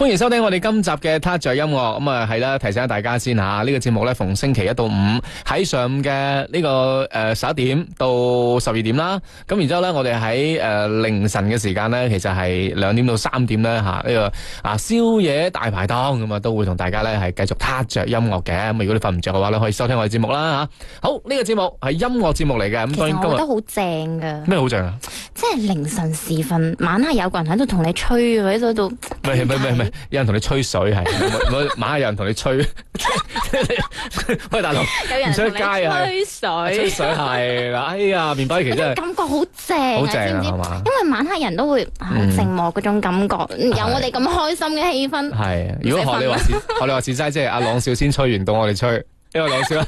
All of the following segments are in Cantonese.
歡迎收聽我哋今集嘅 Touch 着音樂。咁啊係啦，提醒下大家先吓，呢個節目咧逢星期一到五喺上午嘅呢個11點到12點啦。咁然之後咧，我哋喺凌晨嘅時間咧，其實係2點到3點咧吓，呢個宵夜大排檔咁啊，都會同大家咧係繼續 Touch 着音樂嘅。咁如果你瞓唔着嘅話咧，可以收聽我哋節目啦吓。好，呢個節目係音樂節目嚟嘅。咁當然今日我覺得好正噶。 咩好正啊？ 即係凌晨時分，晚黑有個人喺度同你吹喺度。 唔係，有人同你吹水係，晚黑有人同你吹。喂，大佬， 有人出街啊？ 吹水係啦。哎呀，麵包期真係感覺好正， 好正啊， 知唔知？ 係嘛？ 因為晚黑人都會好寂寞嗰種感覺，有我哋咁開心嘅氣氛。 係，如果學你話事齋，即係阿朗少先吹完到我哋吹，因為朗少。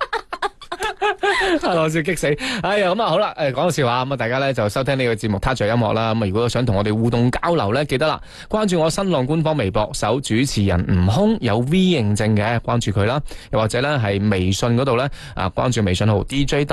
阿朗少激死！哎呀，咁啊好啦，講個笑話咁啊，大家咧就收聽呢個節目 Touch 着音樂啦。咁啊，如果想同我哋互動交流咧，記得啦，關注我新浪官方微博，搜主持人悟空有 V 認證嘅，關注佢啦。又或者咧係微信嗰度咧關注微信號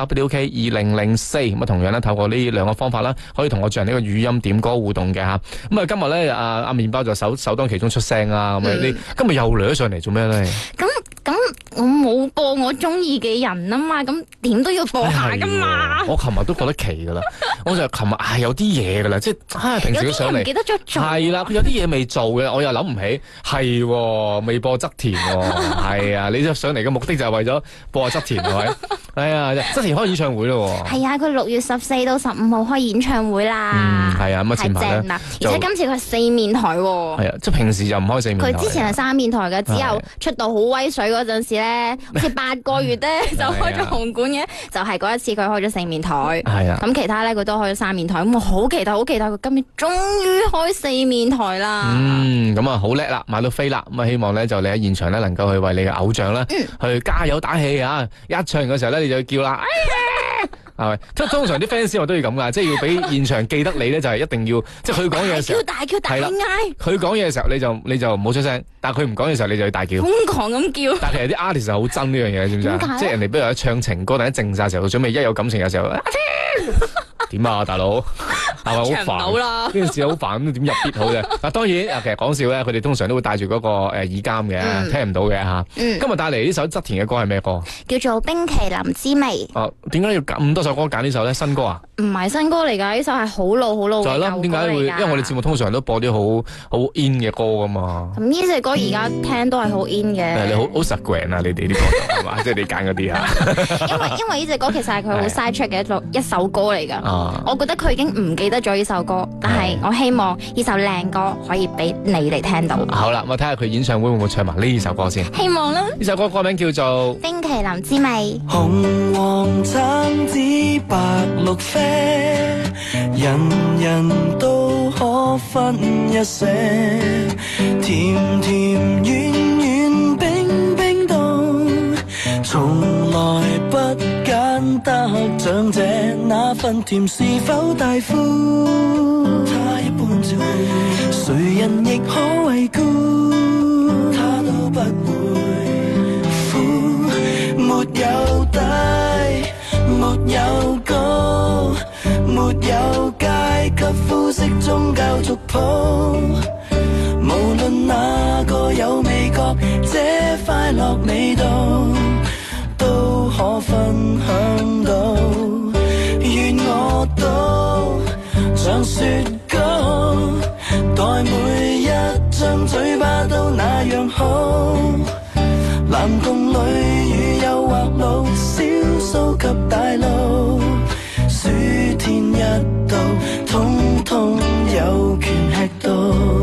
DJWK2004，咁啊同樣咧透過呢兩個方法啦，可以同我進行呢個語音點歌互動嘅吓。咁啊今日咧阿麵包就首當其衝出聲啊！咁啊你今日又嚟咗上嚟做咩咧？ 咁我冇播我中意嘅人啊嘛，咁點都要播下噶嘛。 我琴日都覺得奇噶啦，我就琴日有啲嘢噶啦，即係平時都上嚟， 唔記得咗做。 係啦，佢有啲嘢未做嘅，我又諗唔起，係未播側田，係啊，你上嚟嘅目的就係為咗播下側田係咪？哎呀，側田開演唱會咯。係啊，佢6月14到15號開演唱會啦。 係啊，咁啊前排咧， 而且今次佢係4面台。係啊，即係平時就唔開4面台。 佢之前係3面台嘅，只有出道好威水嗰陣時咧，好似8個月咧就開咗紅館嘅，就係嗰一次佢開咗4面台。係啊，咁其他咧佢都開咗3面台，咁我好期待佢今年終於開4面台啦。 咁啊好叻啦，買到飛啦，咁啊希望咧就你喺現場咧能夠去為你嘅偶像咧去加油打氣啊！一唱嘅時候咧你就叫啦。係咪？通常啲 fans 我都要咁噶，即係要俾現場記得你咧，就係一定要，即係佢講嘢嘅時候， 大叫大嗌。 佢講嘢嘅時候你就唔好出聲，但係佢唔講嘢嘅時候你就要大叫，瘋狂咁叫。 但係其實啲 artist 係好憎呢樣嘢，知唔知啊？即係人哋比如一唱情歌，但係一靜晒嘅時候，準備一有感情嘅時候，點啊大佬，係咪好煩？呢件事好煩，咁點入 beat 好啫？嗱，當然其實講笑咧，佢哋通常都會帶住嗰個耳監嘅，聽唔到嘅吓。今日帶嚟呢首側田嘅歌係咩歌？ 叫做《冰淇淋之味》。 哦，點解要咁多首歌揀呢首咧？新歌啊？ 唔係新歌嚟㗎，呢首係好老好老嘅舊歌嚟㗎。就係咯，點解會？因為我哋節目通常都播啲好 in 嘅歌噶嘛。咁呢隻歌而家聽都係好 in 嘅。 你好 Instagram 啊，你哋啲歌係嘛？即係你揀嗰啲啊。 因為呢隻歌其實係佢好 side track 嘅一首歌嚟㗎。我覺得佢已經唔記得咗呢首歌，但係我希望呢首靚歌可以俾你哋聽到。 好啦，我睇下佢演唱會會唔會唱埋呢首歌先。 希望啦。呢首歌歌名叫做《 冰淇淋之味》。 紅黃橙紫白綠啡，人人都可分一些，甜甜軟軟冰冰凍，從來不揀得長者，那份甜是否大呼？他一般照顧，誰人亦可為顧，他都不會苦，沒有底，沒有高，沒有階級膚色宗教族譜，無論哪個有味覺，這快樂味道都可分享到，願我都像雪糕，待每一張嘴巴都那樣好，藍共裏與誘惑路，小數及大路，暑天一到，統統有權吃到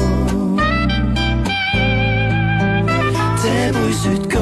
這杯雪糕。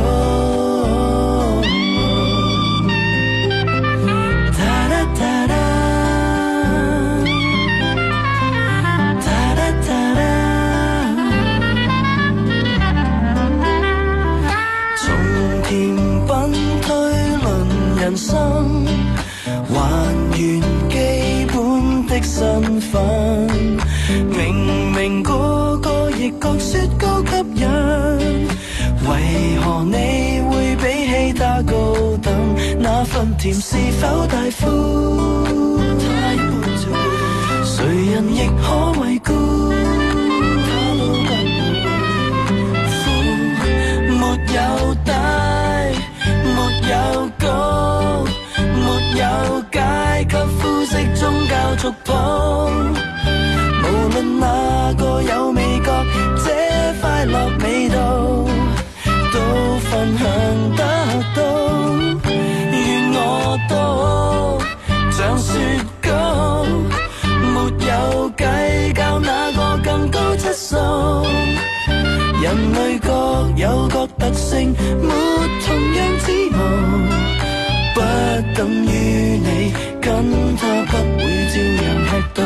人生還原基本的身份，明明個個亦覺雪糕吸引，為何你會比起他高等？那份甜是否大呼？他一般做，誰人亦可為顧，他都不會觸碰。無論哪個有味覺，這快樂味道都分享得到。願我都像雪糕，沒有計較哪個更高質素。人類各有各特性，沒同樣指模，不等於你跟他不會照樣吃到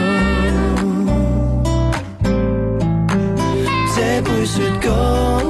這杯雪糕。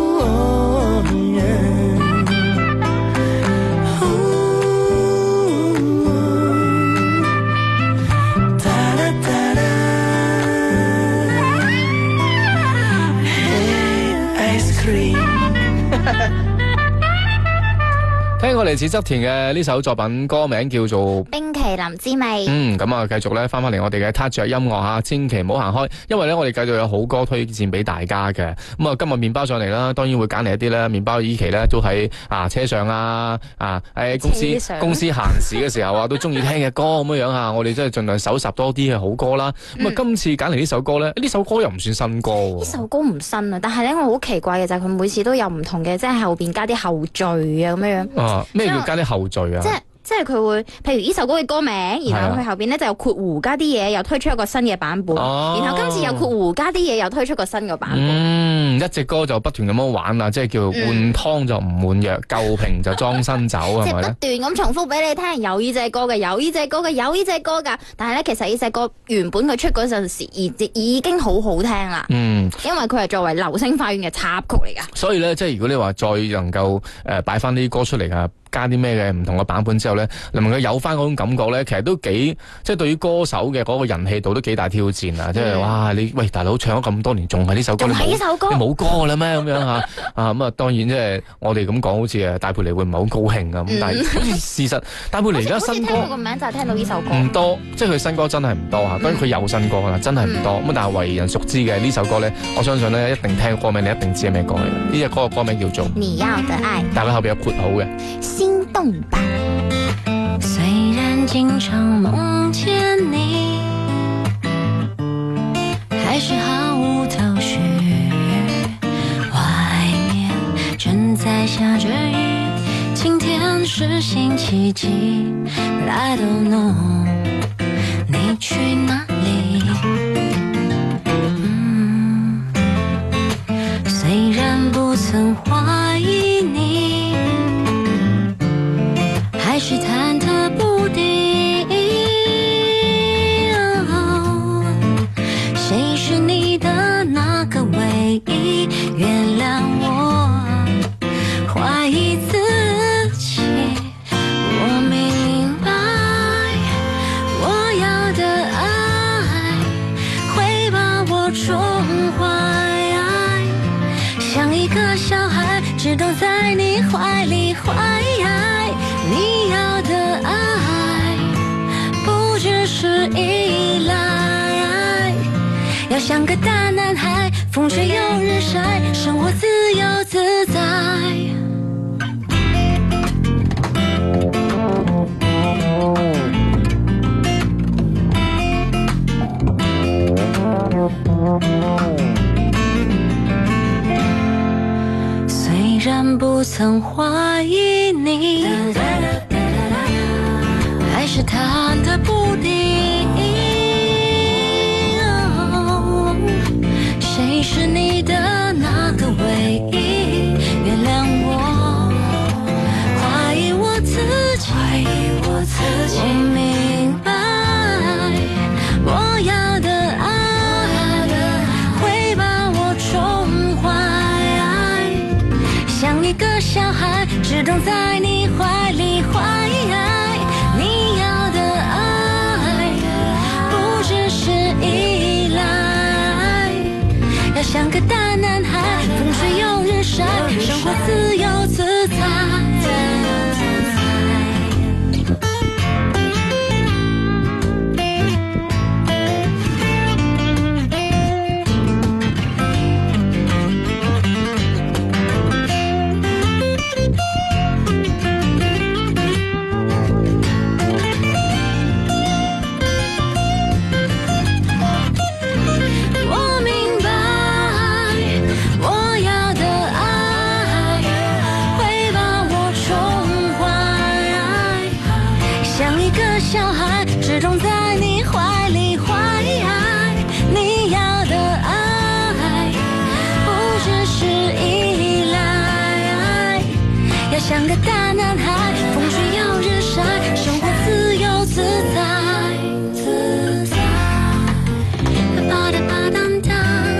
聽過嚟自側田嘅呢首作品，歌名叫做《 冰淇淋之味》。 咁啊，繼續咧翻返嚟我哋嘅 Touch 音樂吓，千祈唔好行開，因為咧我哋繼續有好歌推薦俾大家嘅。咁啊，今日麵包上嚟啦，當然會揀嚟一啲咧，麵包依期咧都喺車上喺公司行時嘅時候都中意聽嘅歌咁樣樣我哋真係盡量搜集多啲嘅好歌啦。咁啊，今次揀嚟呢首歌咧，呢首歌又唔算新歌。 呢首歌唔新啊，但係咧我好奇怪嘅就係佢每次都有唔同嘅，即係後邊加啲後序啊咁樣樣。 咩叫加啲後序啊？ 即係佢會，譬如呢首歌嘅歌名，然後佢後邊咧就有括弧加啲嘢，又推出一個新嘅版本。然後今次又括弧加啲嘢，又推出個新嘅版本。 一隻歌就不斷咁樣玩啦，即係叫換湯就唔換藥，舊瓶就裝新酒，係咪咧？ 不斷咁重複俾你聽，有呢隻歌嘅，有呢隻歌嘅，有呢隻歌噶。但係咧，其實呢隻歌原本佢出嗰陣時已經好好聽啦。因為佢係作為流星花園嘅插曲嚟噶。 所以咧，即係如果你話再能夠擺翻啲歌出嚟啊，加啲咩嘅唔同嘅版本之後咧，能夠有翻嗰種感覺咧，其實都幾即係對於歌手嘅嗰個人氣度都幾大挑戰啊！即係哇，你喂大佬唱咗咁多年，仲係呢首歌，你冇歌㗎啦咩？咁樣嚇咁啊！當然即係我哋咁講，好似戴佩妮會唔係好高興啊咁，但係事實戴佩妮而家新歌， 好似聽到個名就係聽到呢首歌唔多，即係佢新歌真係唔多嚇。當然佢有新歌啦，真係唔多咁，但係為人熟知嘅呢首歌咧，我相信咧一定聽歌名，你一定知係咩歌嚟嘅。呢隻歌嘅歌名叫做《 你要的愛》， 但係佢後邊有括號嘅。 心動吧。 雖然經常夢見你，還是毫無頭緒。外面正在下着雨，今天是星期幾 But I don't know 你去哪裡。雖然不曾懷疑你，還是忐忑不定。誰是你的那個唯一？原諒我懷疑自己。我明白，我要的愛會把我寵壞，像一個小孩只懂在你懷裡懷。你要的愛不只是依賴，要像個大男孩，風吹又日曬，生活自由自在。雖然不曾懷疑你，還是忐忑不定。誰是你的那個唯一？原諒我懷疑我自己。我明白，我要的愛會把我寵壞，像一個小孩只懂在你懷裡懷。你要的愛不只是依賴，要像個大男孩，風吹又日曬，生活自由自在。 像个大男孩，风吹要日晒，生活自由自在，自在。吧嗒吧嗒嗒。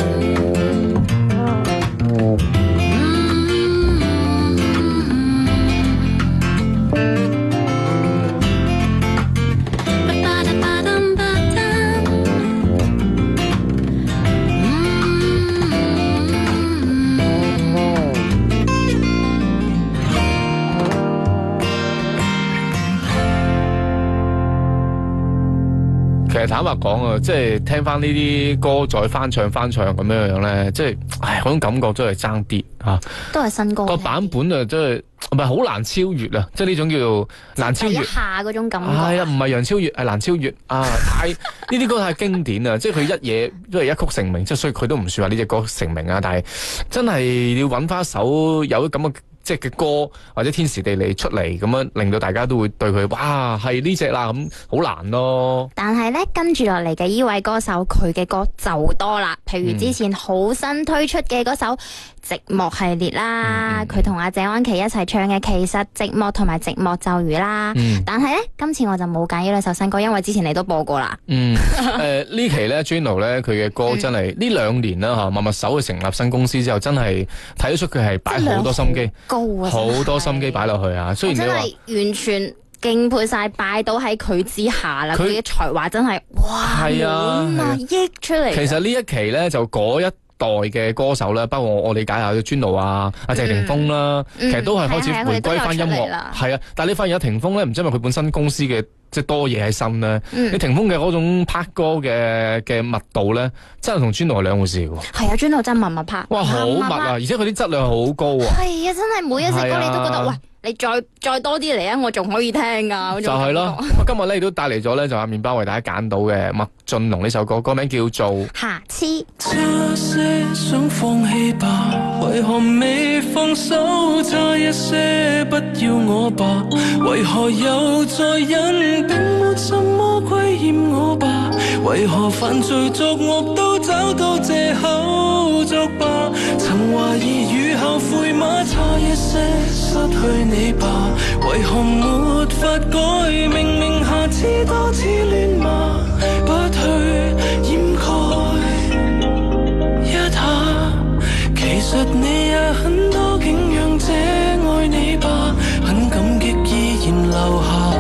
其實坦白講啊，即係聽翻呢啲歌再翻唱咁樣咧，即係嗰種感覺真係爭啲嚇。 都係新歌個版本啊，真係唔係好難超越啊！即係呢種叫做難超越。 一下嗰種感覺。 係啊，唔係楊超越，係難超越啊！太呢啲歌太經典啊！即係佢一嘢都係一曲成名，即係所以佢都唔算話呢隻歌成名啊！但係真係要揾翻一首有咁嘅。即係嘅歌或者天時地利出嚟咁樣，令到大家都會對佢哇係呢隻啦咁，好難咯。 但係咧跟住落嚟嘅呢位歌手，佢嘅歌就多啦。譬如之前好新推出嘅嗰首寂寞系列啦，佢同阿謝安琪一齊唱嘅其實寂寞同埋寂寞咒語啦。但係咧今次我就冇揀呢兩首新歌，因為之前你都播過啦。呢期咧 Juno 咧佢嘅歌真係呢2年啦嚇，默默手去成立新公司之後，真係睇得出佢係擺好多心機。好多心機擺落去啊！雖然你話真係完全敬佩晒，擺到喺佢之下啦。佢嘅才華真係哇， 係啊， 溢出嚟。 其實呢一期咧就嗰一代嘅歌手咧，包括我理解下嘅Juno啊、阿謝霆鋒啦，其實都係開始回歸翻音樂。係啊，但係你發現阿霆鋒咧，唔知因為佢本身公司嘅即係多嘢喺身咧，你霆鋒嘅嗰種拍歌嘅密度咧，真係同Juno係兩回事喎。係啊，Juno真係密拍。 哇，好密啊！而且佢啲質量好高啊。 係啊，真係每一隻歌你都覺得喂。你再多啲嚟啊！我仲可以聽噶， 就係咯。今日咧亦都帶嚟咗咧，就阿麵包為大家揀到嘅麥浚龍呢首歌，歌名叫做《 瑕疵》。 這些想放棄吧，為何未放手？差一些不要我吧，為何又再忍？並沒什麼虧欠我吧，為何犯罪作惡都找到藉口作罷？曾懷疑與後悔嗎？差一些失去你吧，為何沒法改？明明下次多次亂罵，不去掩蓋一下。其實你也很多景仰這愛你吧，很感激依然留下。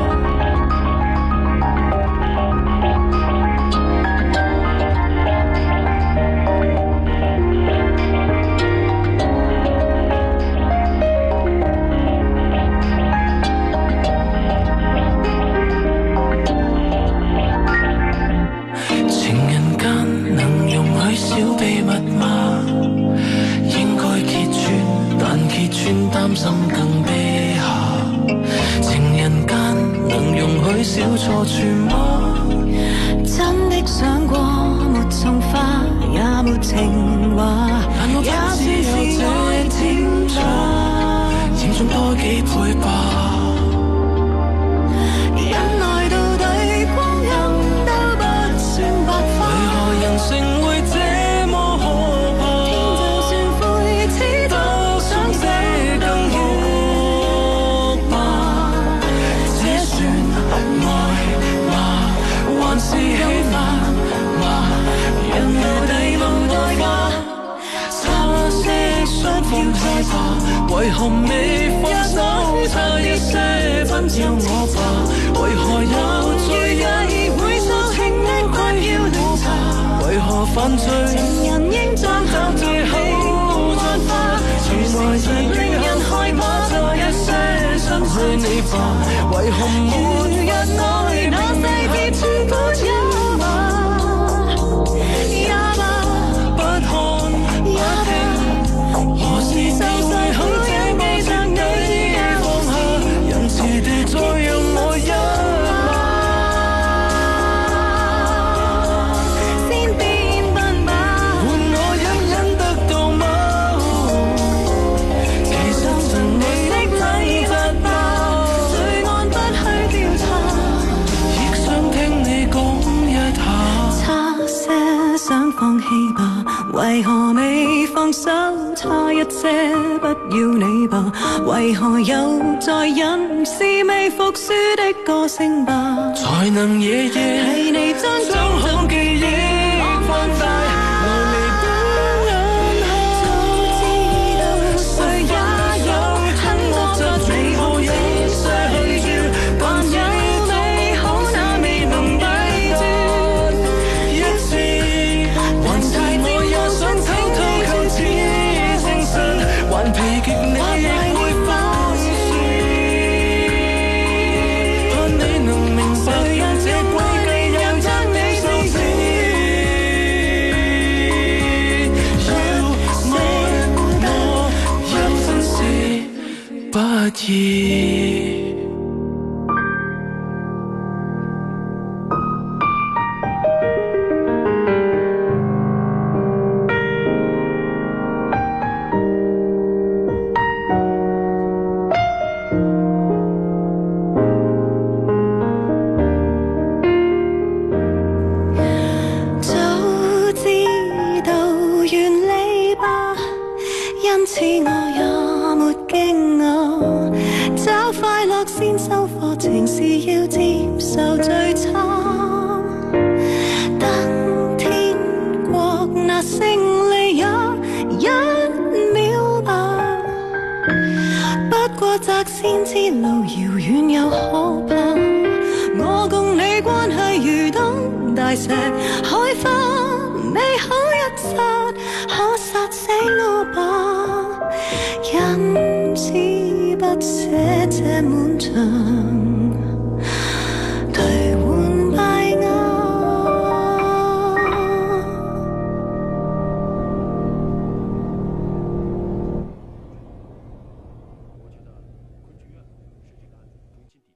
擔心更悲下，情人間能容許小錯處嗎？真的想過沒種花也沒情話，但我也只是愛甜茶，嚴重多幾倍吧。忍耐到底光陰都不算白髮，為何人性會這麼可怕？天就算灰此都想死。是喜歡嗎？人無地無代價，差些想放棄吧，為何未放手？差一些不要我吧，為何又再也會受情的困擾調查？為何犯罪情人應將到最後再化？原來是令人害怕，差一些失去你吧，為何沒人愛那世界全部也罷也罷，不看不聽，何時就勢好這記着你放下，仁慈地再讓我一馬，先變笨吧，換我隱隱得到嗎？其實曾你的禮物吧，罪案不去調放手差一些，不要你吧，為何又在忍是未服輸的個性吧， 才能夜夜係你將好記憶放大，來彌補眼下。 早知道誰也有很多不美好已逝去了，還有美好那未能抵斷一次，還是我也想偷偷求此誠實，還疲極你亦會放肆，盼你能明白讓這詭計又將你收死，要愛我一分是不易。 早知道原理吧，因此我也沒驚訝，找快樂先收貨，情是要接受最慘，等天國那勝利也一秒吧，不過擇先知路遙遠又可怕，我共你關係如東大石海花，美好一剎可殺死我吧，因此不捨這滿場